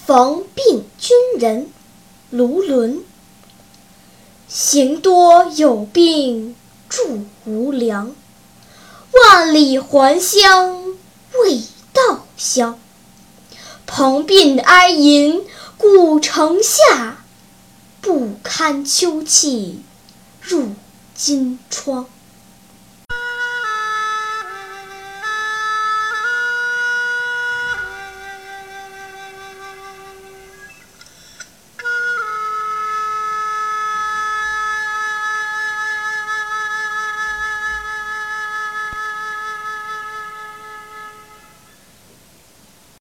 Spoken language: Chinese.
逢病军人卢纶。行多有病住无粮，万里还乡未到乡。朋鬓哀吟古城下，不堪秋气入金窗。